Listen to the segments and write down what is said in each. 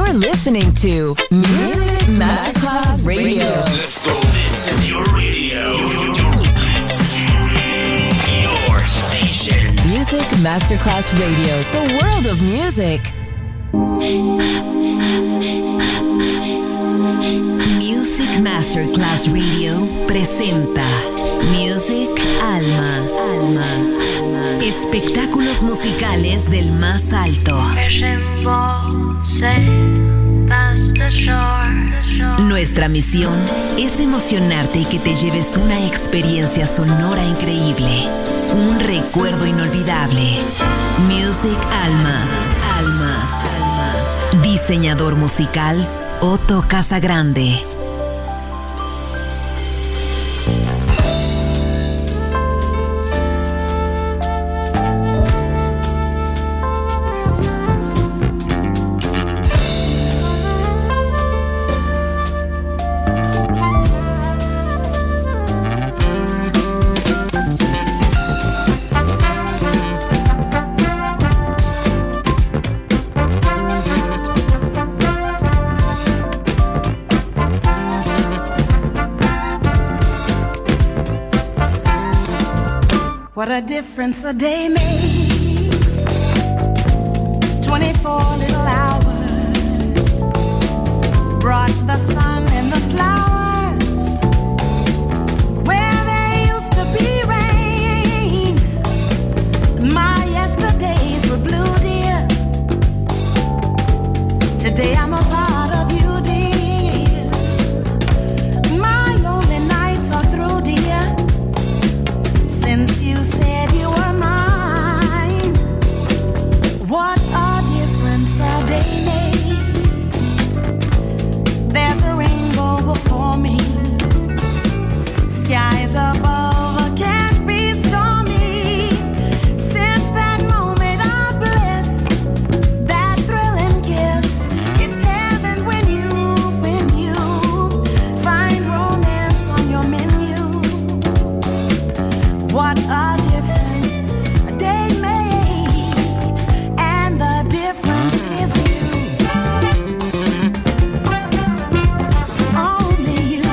You're listening to Music Masterclass Radio. Let's go. This is your radio. Your station. Music Masterclass Radio. The world of music. Music Masterclass Radio presenta Music Alma. Espectáculos musicales del más alto. Nuestra misión es emocionarte y que te lleves una experiencia sonora increíble, un recuerdo inolvidable. Music Alma. Diseñador musical Otto Casagrande. What a difference a day makes. 24 little hours brought the sun and the flowers where there used to be rain. My yesterdays were blue, dear. Today I'm a part of you, dear. My lonely nights are through, dear. Since you said you were mine, what a difference a day makes. There's a rainbow before me, skies above can't be stormy. Since that moment of bliss, that thrilling kiss, it's heaven when you find romance on your menu. What a difference a day makes, and the difference is you, only you.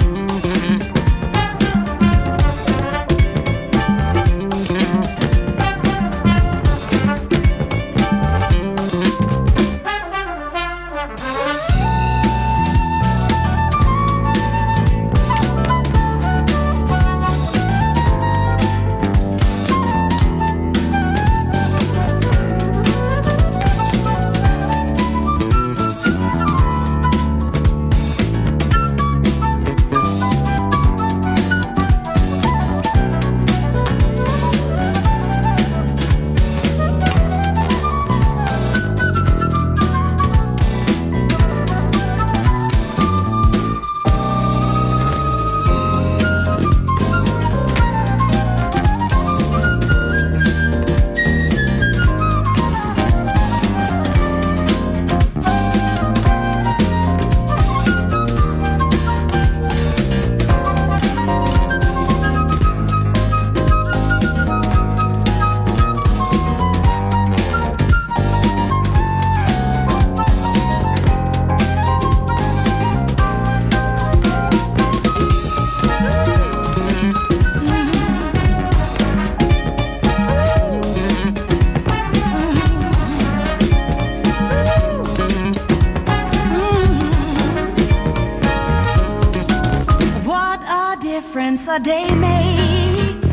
A day makes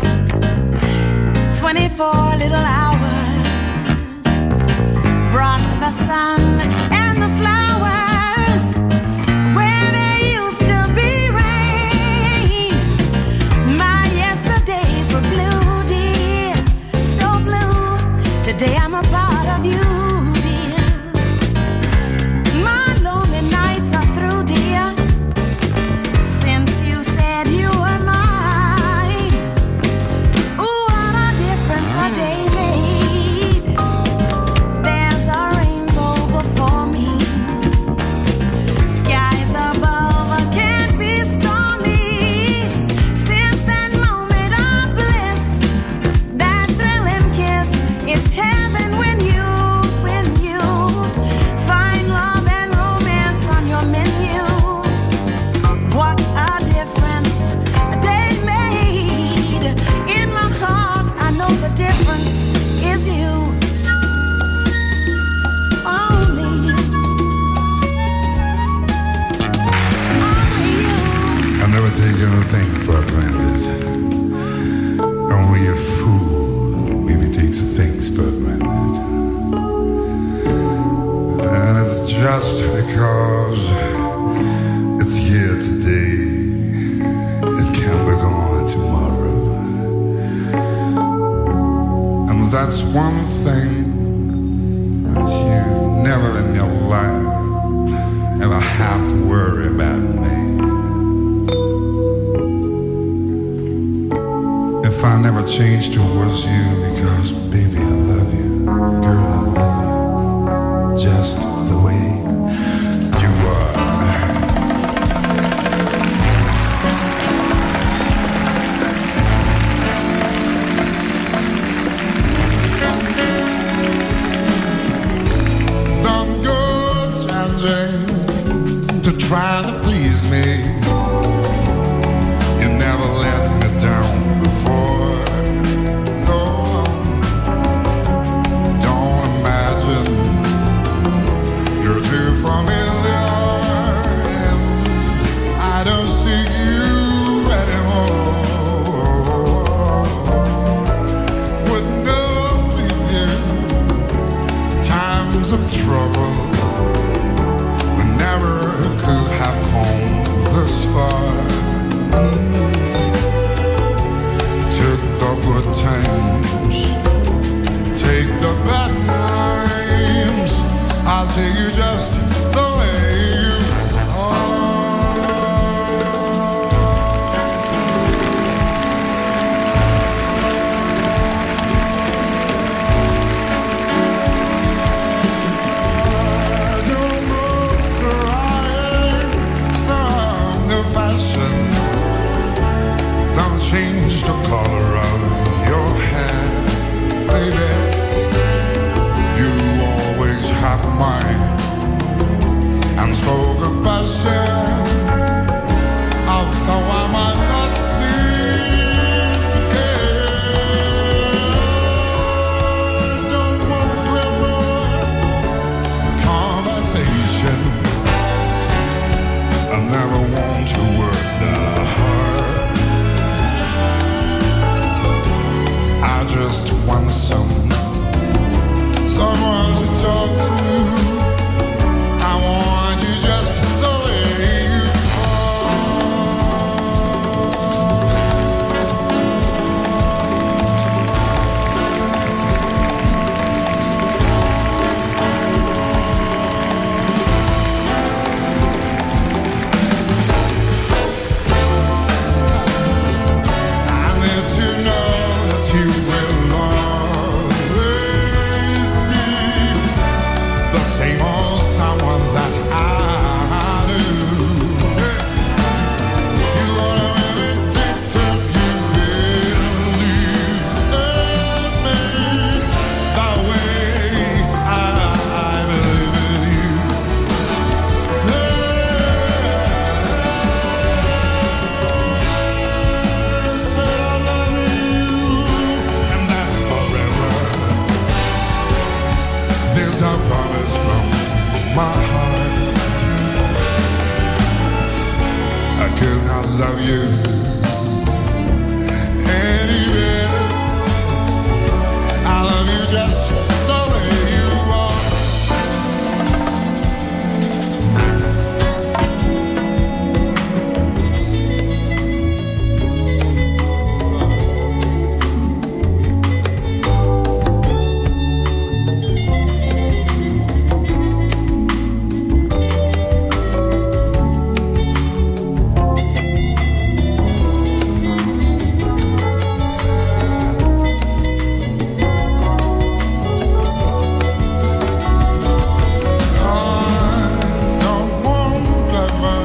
24 little hours brought the sun and the flowers where there used to be rain. My yesterdays were blue, dear, so blue. Today I'm a part of you, dear. My lonely nights are through, dear. Since you said you were mine, ooh, what a difference a day makes. everything for granted. Only a fool maybe takes things for granted. And it's just because it's here today, it can be gone tomorrow. And that's one thing that you never in your life ever have to worry about me. If I never change towards you, because baby I love you, girl I love you, just the way you are. Don't go changing to try to please me. You never let me down before. No, don't imagine you're too familiar and I don't see you anymore. Would never leave you times of trouble. We never could have come this far. Took the good times, take the bad times. I'll take you just the way you are. Don't go trying some new fashion. Don't change the color of your hair, baby. You always have mine unspoken passion. Although I might not seem to care, don't want clever conversation. I never want to work that hard. I just want someone to talk to. I want you just the way you I need to know that you will always be the same old someone that I knew. You are really deep, you believe in me the way I believe in you. Said I love you, and that's forever. There's a promise from my heart. I could not love you any better. I love you just the way you are. Don't want clever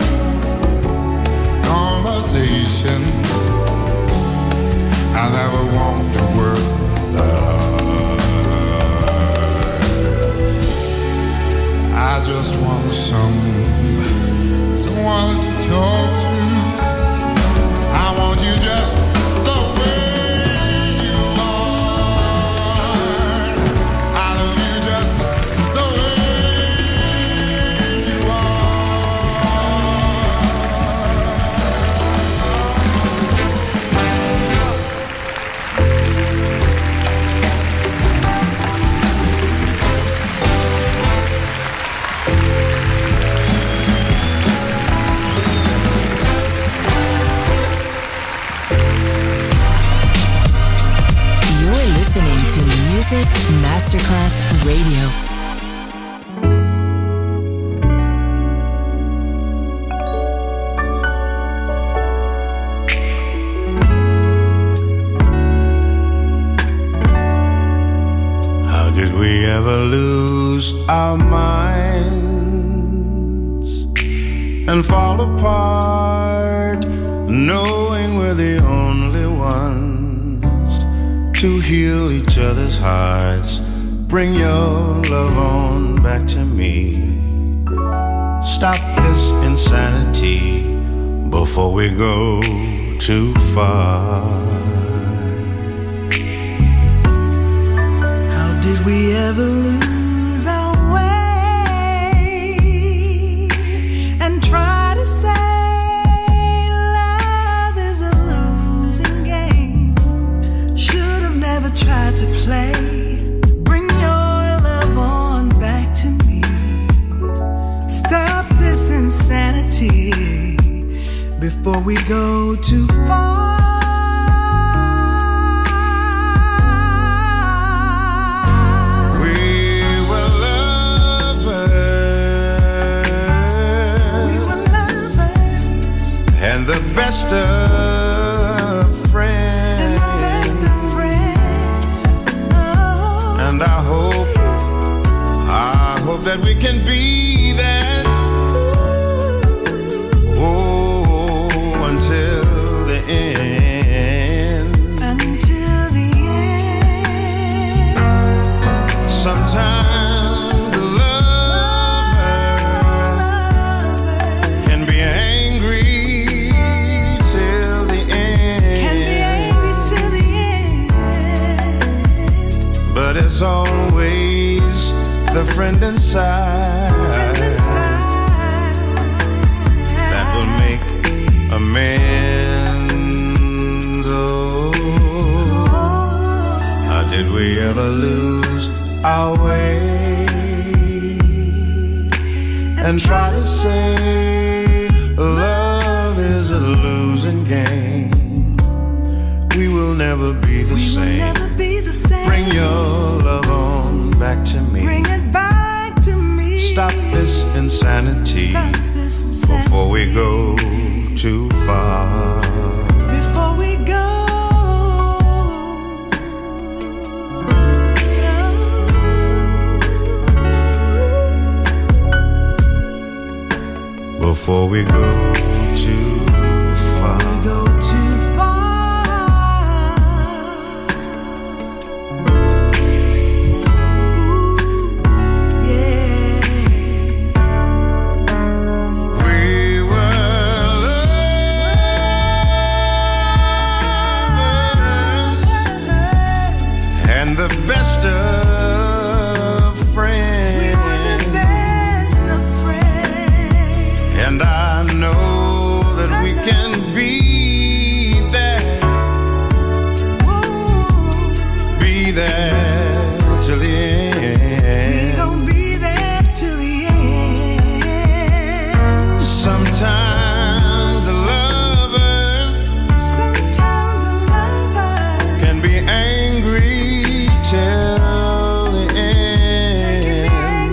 conversation. I never want to work hard. I just want someone to talk to. I want you just the way you are. I love you just the way you are. Music Masterclass Radio. How did we ever lose our minds and fall apart, knowing we're the only ones to heal each other's hearts? Bring your love on back to me. Stop this insanity before we go too far. How did we ever lose our way and try to say love is a losing game? Should have never tried to play. Bring your love on back to me. Stop this insanity before we go too far. And the best of friends. And the best of friends. Oh. And I hope that we can be that. Oh, until the end. Until the end. Sometimes the lover can be angry. But it's always the friend inside that will make amends. Oh, how did we ever lose our way and try to say love is a losing game? We will never be the same. Bring your love on back to me. Bring it back to me. Stop this insanity. Stop this insanity before we go too far. Before we go. Before we go too far. Before we go too far. The best of friends. We were the best of friends. And I know that we can be there. Ooh. Be there till the end. We gon' be there till the end. Sometimes a lover can be angry till the end.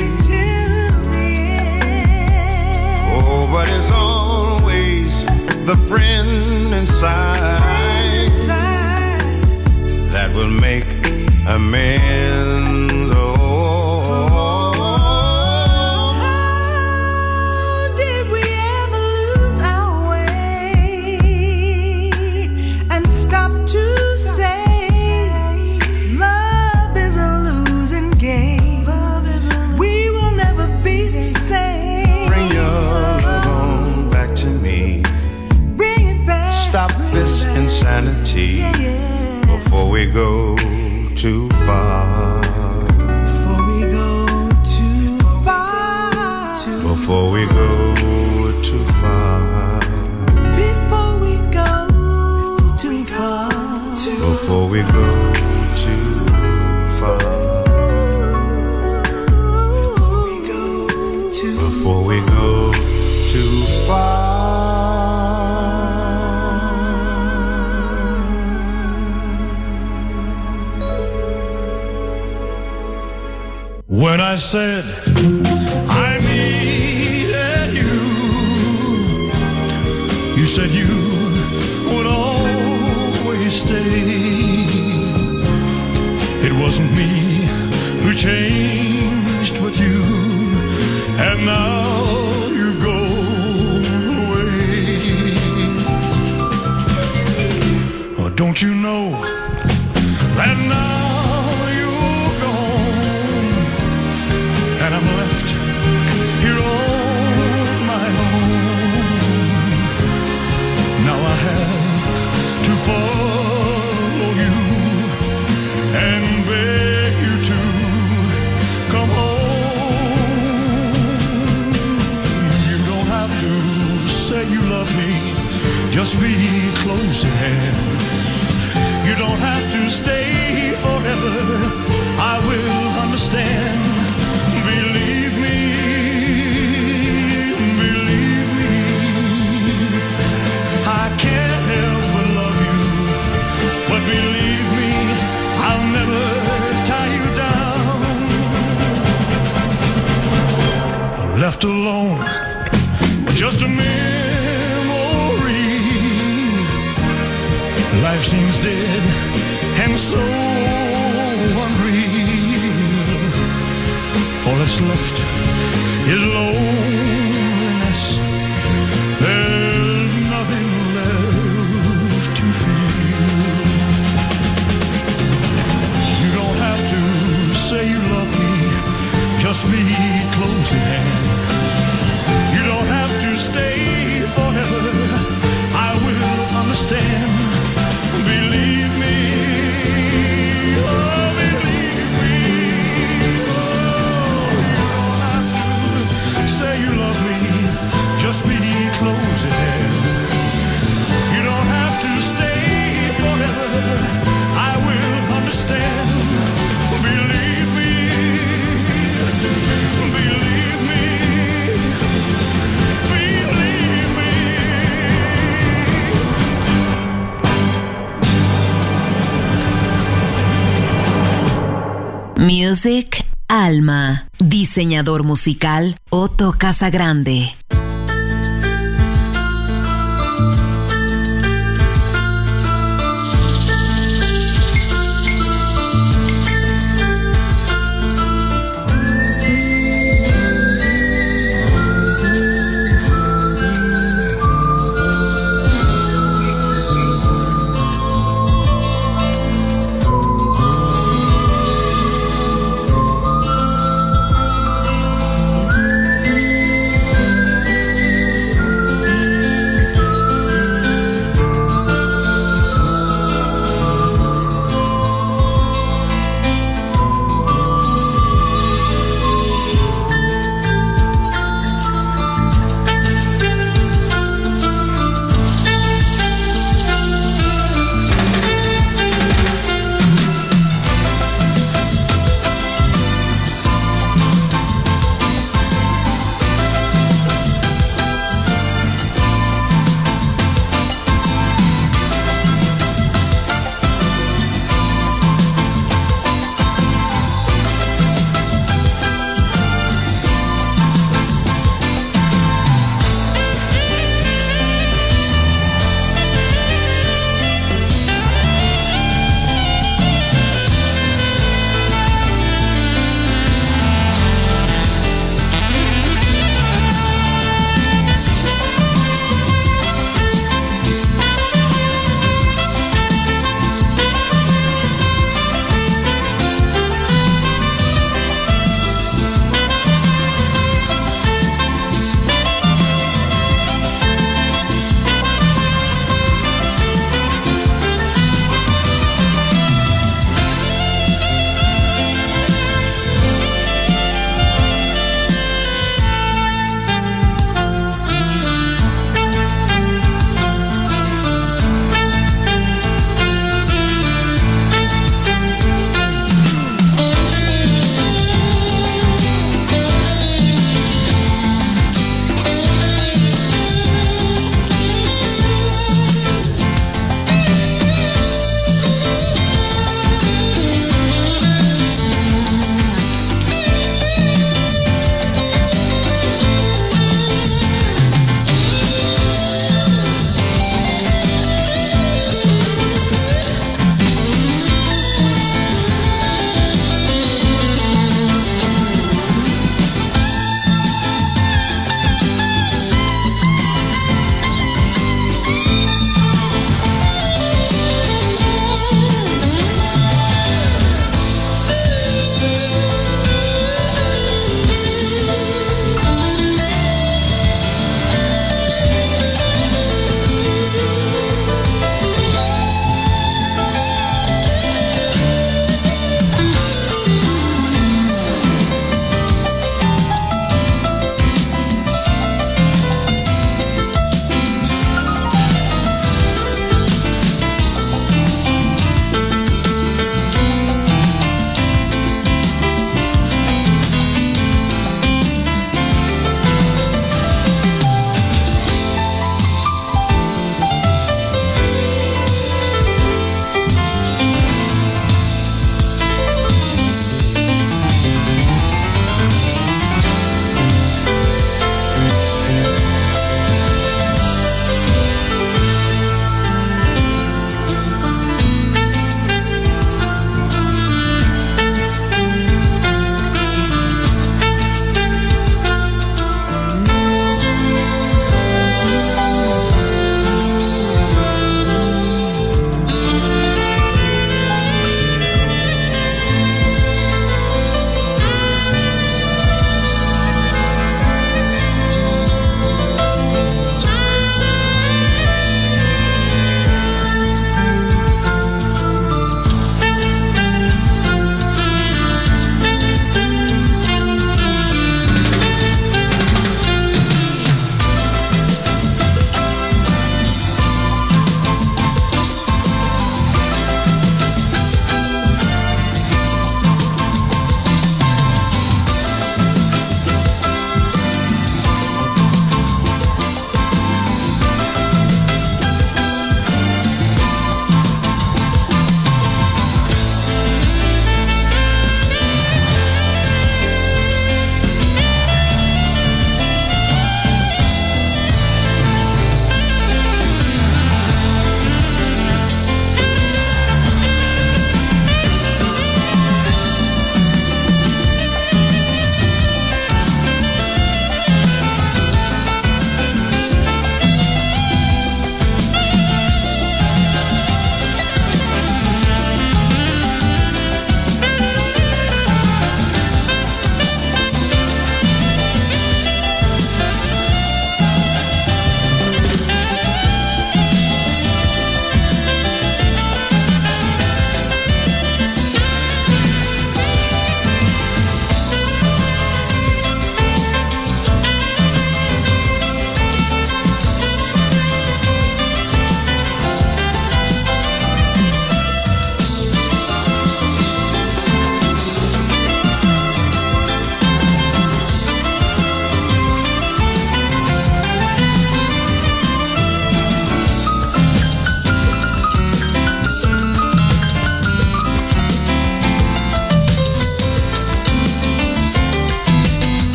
Oh, but it's always the friend inside that will make amends. Oh, how did we ever lose our way and stop to say love is a losing game? We will never be the same. bring your love on back to me. Bring it back. Stop this insanity before we go too far. Before we go too far. Before we go too far. Before we go too far. Before we go too far. Before we go too far. I said I needed you, you said you would always stay. It wasn't me who changed but you, and now you've gone away. Oh, don't you know that now you're gone, and I'm left here on my own. Now I have to follow you and beg you to come home. You don't have to say you love me, just be close at hand. You don't have to stay forever, I will understand. Believe me, I can't help but love you, but believe me, I'll never tie you down. Left alone, just a memory. Life seems dead and so unreal. All that's left is loneliness. There's nothing left to feel. You don't have to say you love me, just be close at hand. You don't have to stay forever, I will understand. Believe me, oh, believe me, oh, you don't have to say you love me, just be close at hand. You don't have to stay forever, I will understand. Believe me, believe me, believe me. Music Alma. Diseñador musical Otto Casagrande.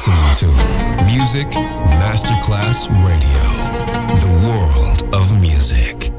listening to Music Masterclass Radio, the world of music.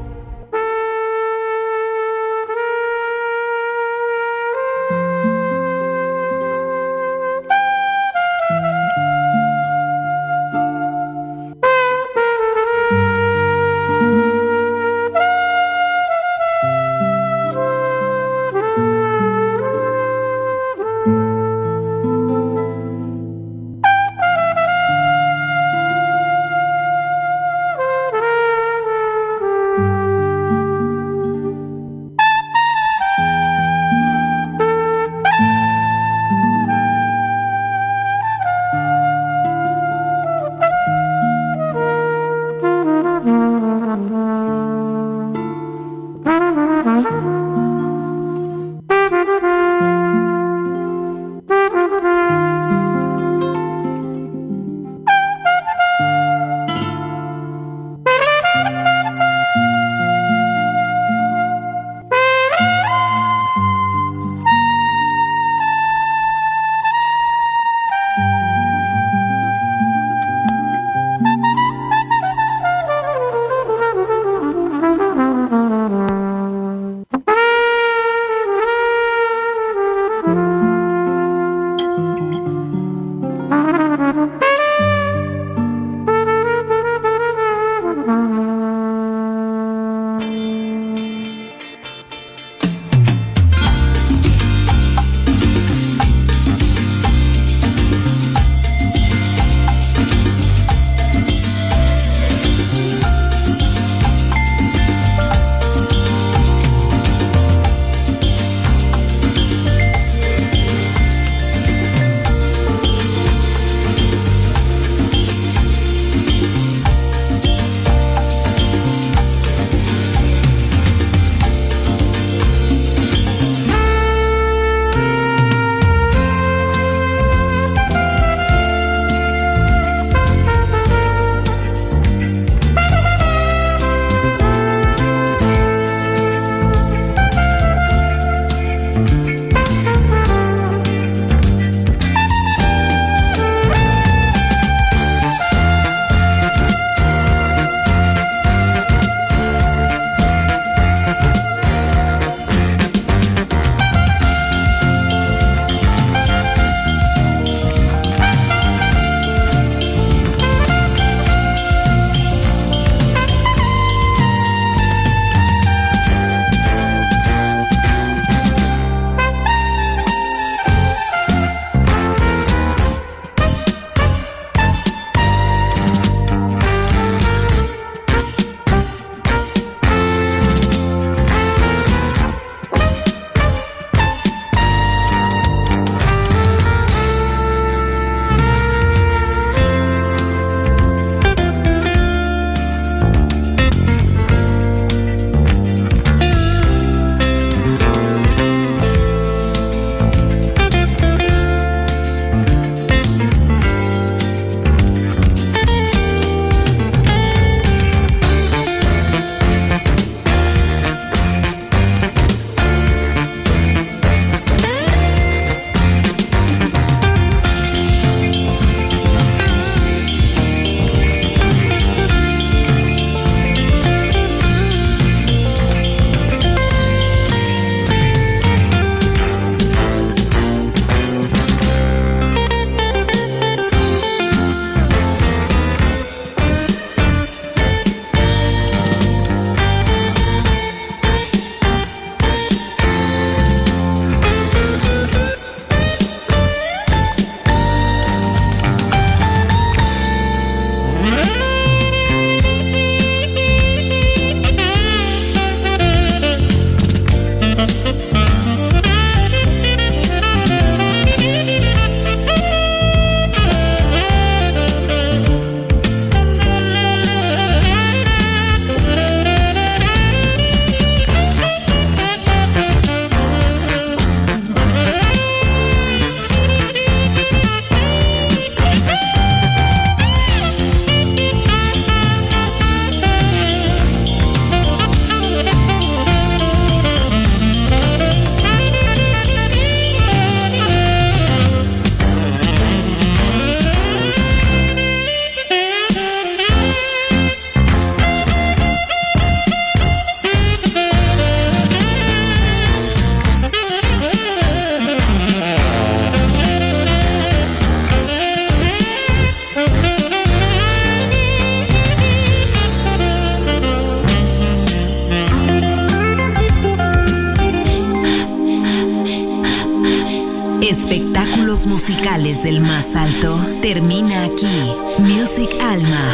espectáculos musicales del más alto termina aquí. Music Alma.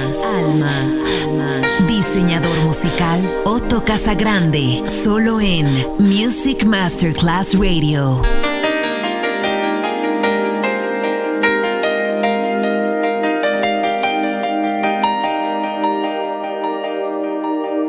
Diseñador musical Otto Casagrande, solo en Music Masterclass Radio.